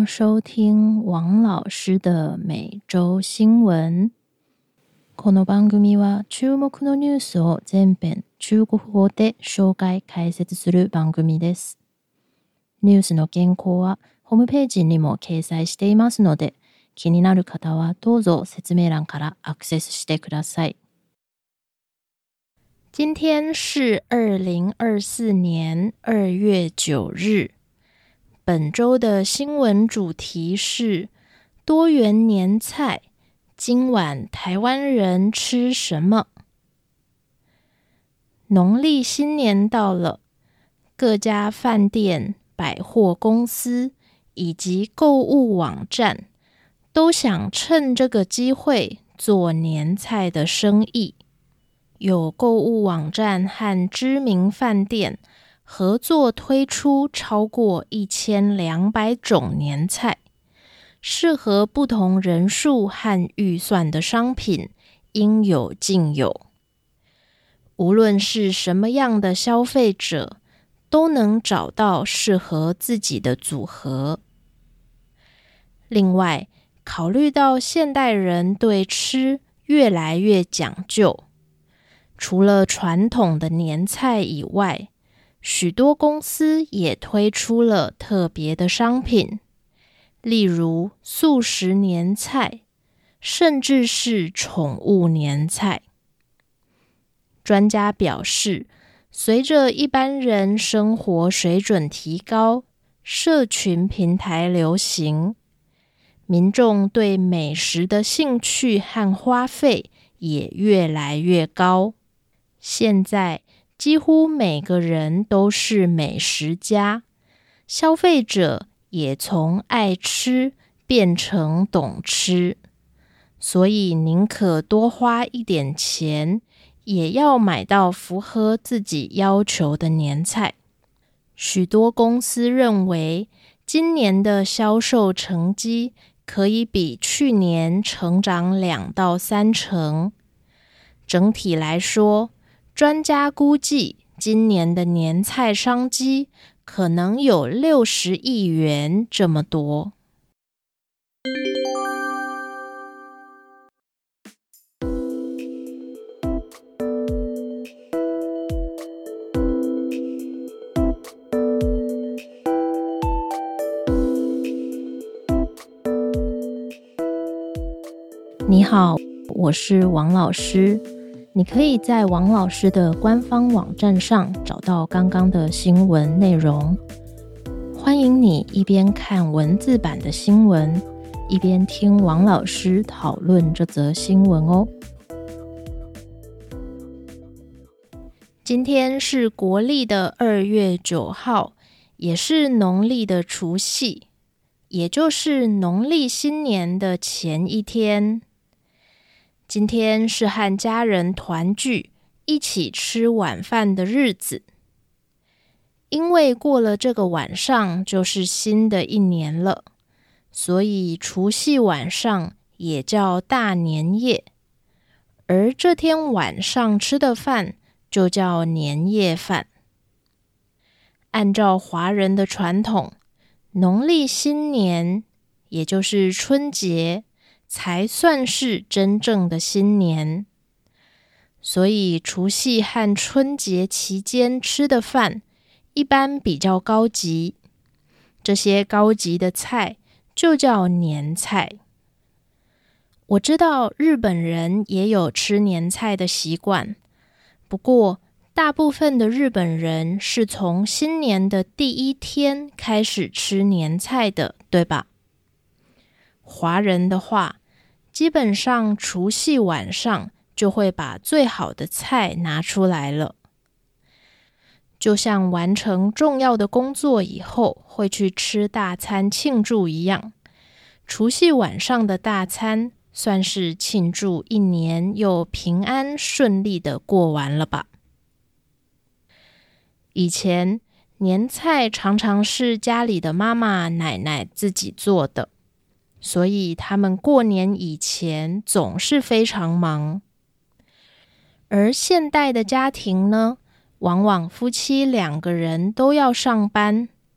收听王老師的每周新聞。この番組は注目のニュースを全編中国語で紹介解説する番組です。ニュースの原稿はホームページにも掲載していますので、気になる方はどうぞ説明欄からアクセスしてください。今天是2024年2月9日。本周的新闻主题是多元年菜，今晚台湾人吃什么？农历新年到了，各家饭店、百货公司以及购物网站都想趁这个机会做年菜的生意。有购物网站和知名饭店合作推出超过1200种年菜，适合不同人数和预算的商品应有尽有。无论是什么样的消费者，都能找到适合自己的组合。另外，考虑到现代人对吃越来越讲究，除了传统的年菜以外，许多公司也推出了特别的商品，例如素食年菜，甚至是宠物年菜。专家表示，随着一般人生活水准提高，社群平台流行，民众对美食的兴趣和花费也越来越高。现在几乎每个人都是美食家，消费者也从爱吃变成懂吃，所以宁可多花一点钱，也要买到符合自己要求的年菜。许多公司认为，今年的销售成绩可以比去年成长2到3成。整体来说，专家估计今年的年菜商机可能有60亿元这么多。你好，我是王老师。你可以在王老师的官方网站上找到刚刚的新闻内容。欢迎你一边看文字版的新闻，一边听王老师讨论这则新闻哦。今天是国历的2月9号，也是农历的除夕，也就是农历新年的前一天。今天是和家人团聚，一起吃晚饭的日子。因为过了这个晚上就是新的一年了，所以除夕晚上也叫大年夜，而这天晚上吃的饭就叫年夜饭。按照华人的传统，农历新年，也就是春节，才算是真正的新年。所以除夕和春节期间吃的饭一般比较高级，这些高级的菜就叫年菜。我知道日本人也有吃年菜的习惯，不过大部分的日本人是从新年的第一天开始吃年菜的，对吧？华人的话，基本上除夕晚上就会把最好的菜拿出来了。就像完成重要的工作以后会去吃大餐庆祝一样，除夕晚上的大餐算是庆祝一年又平安顺利的过完了吧。以前年菜常常是家里的妈妈奶奶自己做的，所以他们过年以前总是非常忙。而现代的家庭呢，往往夫妻2个人都要上班，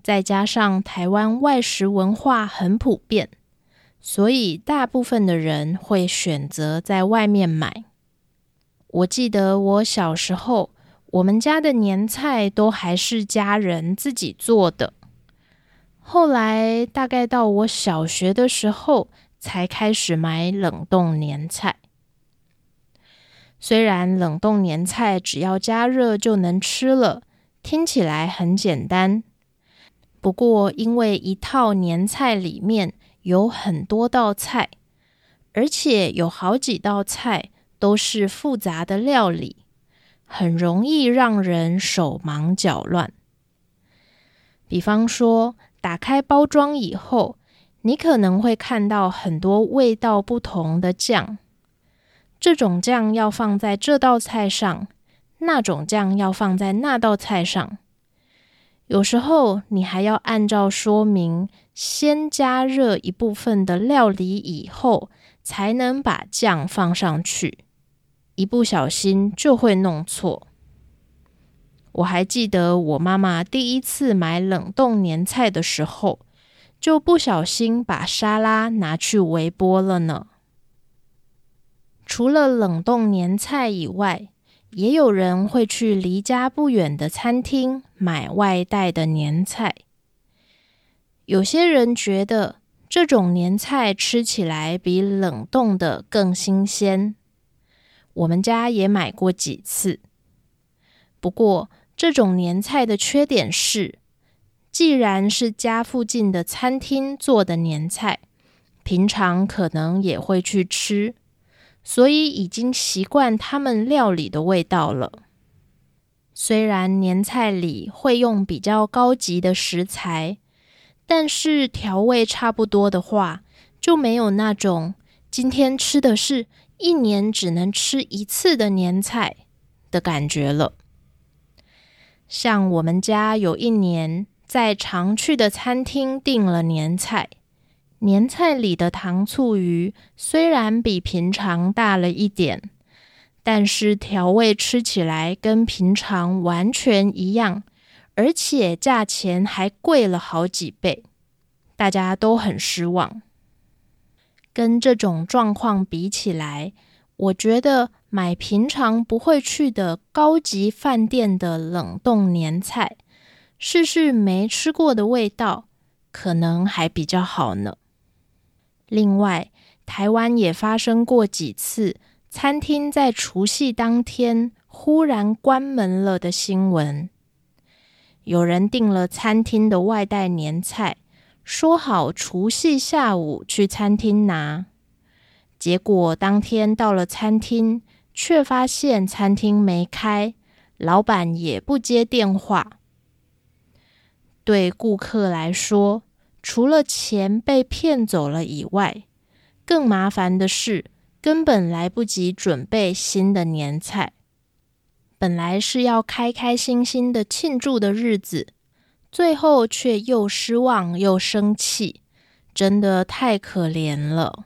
再加上台湾外食文化很普遍，所以大部分的人会选择在外面买。我记得我小时候，我们家的年菜都还是家人自己做的。后来大概到我小学的时候，才开始买冷冻年菜。虽然冷冻年菜只要加热就能吃了，听起来很简单。不过因为一套年菜里面有很多道菜，而且有好几道菜都是复杂的料理，很容易让人手忙脚乱。比方说，打开包装以后，你可能会看到很多味道不同的酱。这种酱要放在这道菜上，那种酱要放在那道菜上。有时候你还要按照说明，先加热一部分的料理以后，才能把酱放上去。一不小心就会弄错。我还记得我妈妈第一次买冷冻年菜的时候，就不小心把沙拉拿去微波了呢。除了冷冻年菜以外，也有人会去离家不远的餐厅买外带的年菜。有些人觉得这种年菜吃起来比冷冻的更新鲜。我们家也买过几次。不过，这种年菜的缺点是，既然是家附近的餐厅做的年菜，平常可能也会去吃，所以已经习惯他们料理的味道了。虽然年菜里会用比较高级的食材，但是调味差不多的话，就没有那种今天吃的是一年只能吃一次的年菜的感觉了。像我们家有一年在常去的餐厅订了年菜，年菜里的糖醋鱼虽然比平常大了一点，但是调味吃起来跟平常完全一样，而且价钱还贵了好几倍，大家都很失望。跟这种状况比起来，我觉得买平常不会去的高级饭店的冷冻年菜，试试没吃过的味道，可能还比较好呢。另外，台湾也发生过几次餐厅在除夕当天忽然关门了的新闻。有人订了餐厅的外带年菜，说好除夕下午去餐厅拿，结果当天到了餐厅，却发现餐厅没开，老板也不接电话。对顾客来说，除了钱被骗走了以外，更麻烦的是根本来不及准备新的年菜。本来是要开开心心的庆祝的日子，最后却又失望又生气，真的太可怜了。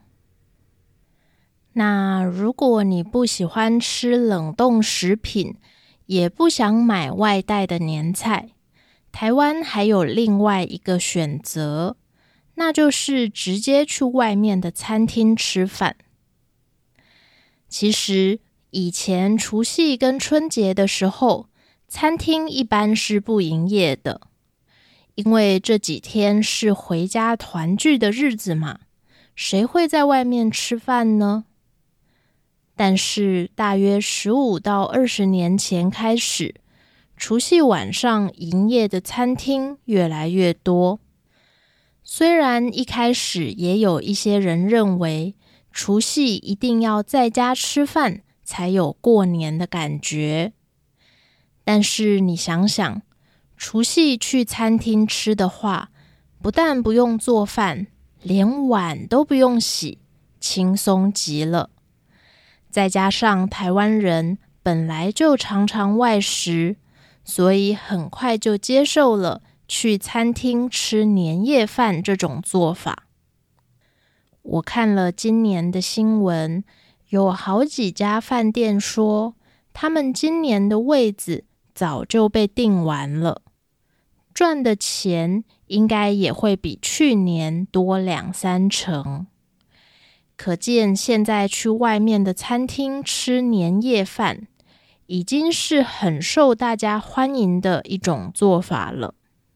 那如果你不喜欢吃冷冻食品，也不想买外带的年菜，台湾还有另外一个选择，那就是直接去外面的餐厅吃饭。其实以前除夕跟春节的时候，餐厅一般是不营业的，因为这几天是回家团聚的日子嘛，谁会在外面吃饭呢？但是大约15到20年前开始，除夕晚上营业的餐厅越来越多。虽然一开始也有一些人认为除夕一定要在家吃饭才有过年的感觉，但是你想想，除夕去餐厅吃的话，不但不用做饭，连碗都不用洗，轻松极了。再加上台湾人本来就常常外食，所以很快就接受了去餐厅吃年夜饭这种做法。我看了今年的新闻，有好几家饭店说，他们今年的位子早就被订完了。 赚的钱应该也会比去年多2-3成。可见现在去外面的餐厅吃年夜饭，已经是很受大家欢迎的一种做法了。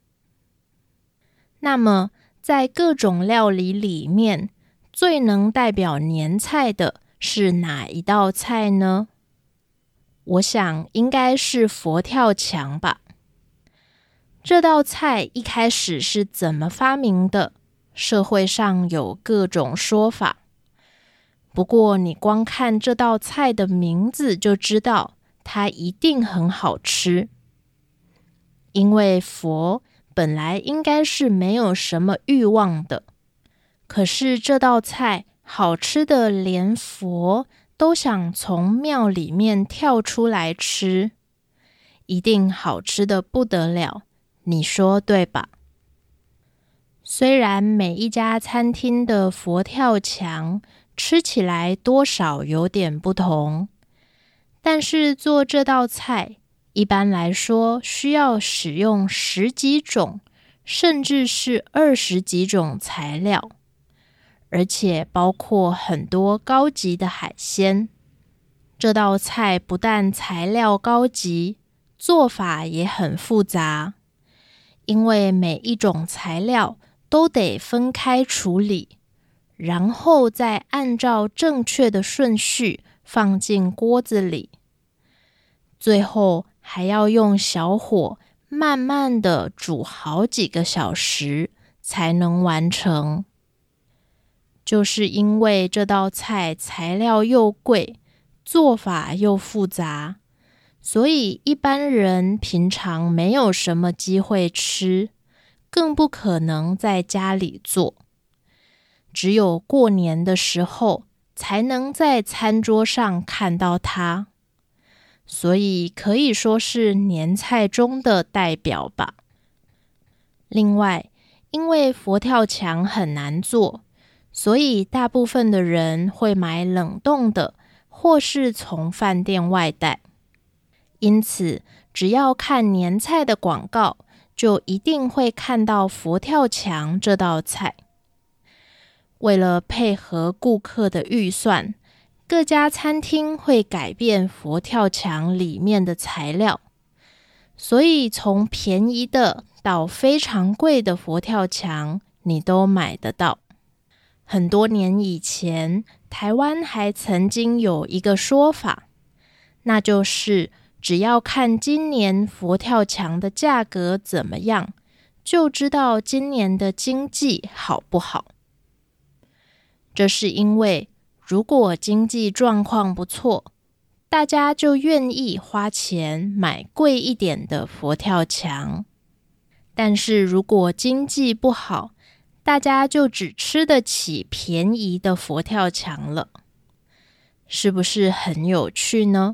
那么在各种料理里面，最能代表年菜的是哪一道菜呢？我想应该是佛跳墙吧。这道菜一开始是怎么发明的？社会上有各种说法。不过你光看这道菜的名字就知道，它一定很好吃。因为佛本来应该是没有什么欲望的，可是这道菜好吃的连佛都想从庙里面跳出来吃，一定好吃的不得了，你说对吧？虽然每一家餐厅的佛跳墙吃起来多少有点不同，但是做这道菜一般来说需要使用10几种甚至是20几种材料，而且包括很多高级的海鲜。这道菜不但材料高级，做法也很复杂，因为每一种材料都得分开处理，然后再按照正确的顺序放进锅子里，最后还要用小火慢慢的煮好几个小时才能完成。就是因为这道菜材料又贵，做法又复杂，所以一般人平常没有什么机会吃，更不可能在家里做。只有过年的时候才能在餐桌上看到它，所以可以说是年菜中的代表吧。另外，因为佛跳墙很难做，所以大部分的人会买冷冻的，或是从饭店外带。因此，只要看年菜的广告，就一定会看到佛跳墙这道菜。为了配合顾客的预算，各家餐厅会改变佛跳墙里面的材料，所以从便宜的到非常贵的佛跳墙，你都买得到。很多年以前，台湾还曾经有一个说法，那就是只要看今年佛跳墙的价格怎么样，就知道今年的经济好不好。这是因为如果经济状况不错，大家就愿意花钱买贵一点的佛跳墙。但是如果经济不好，大家就只吃得起便宜的佛跳墙了。是不是很有趣呢？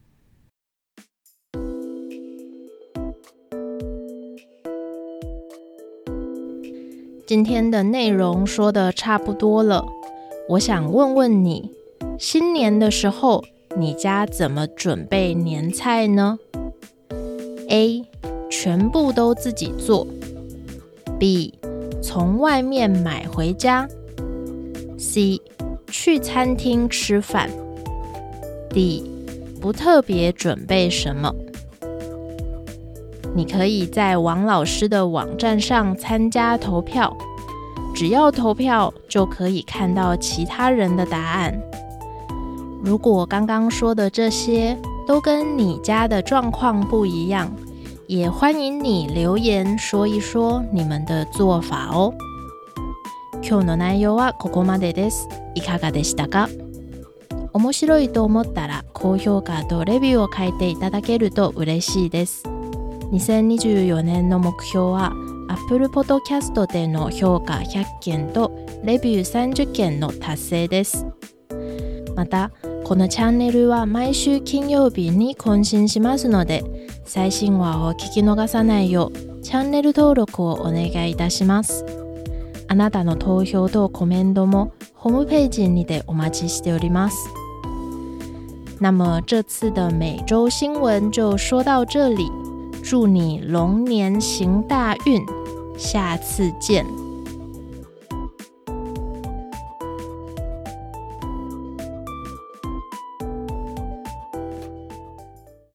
今天的内容说得差不多了，我想问问你，新年的时候你家怎么准备年菜呢？ A. 全部都自己做， B. 从外面买回家， C. 去餐厅吃饭， D. 不特别准备什么。你可以在王老师的网站上参加投票，只要投票就可以看到其他人的答案。如果刚刚说的这些都跟你家的状况不一样，也欢迎你留言说一说你们的做法哦。今日の内容はここまでです。いかがでしたか？面白いと思ったら高評価とレビューを書いていただけると嬉しいです。2024年の目標は Apple Podcast での評価100件とレビュー30件の達成です。また、このチャンネルは毎週金曜日に更新しますので、最新話を聞き逃さないようチャンネル登録をお願いいたします。あなたの投票とコメントもホームページにてお待ちしております。那么这次的每周新闻就说到这里。 祝你龙年行大运，下次见。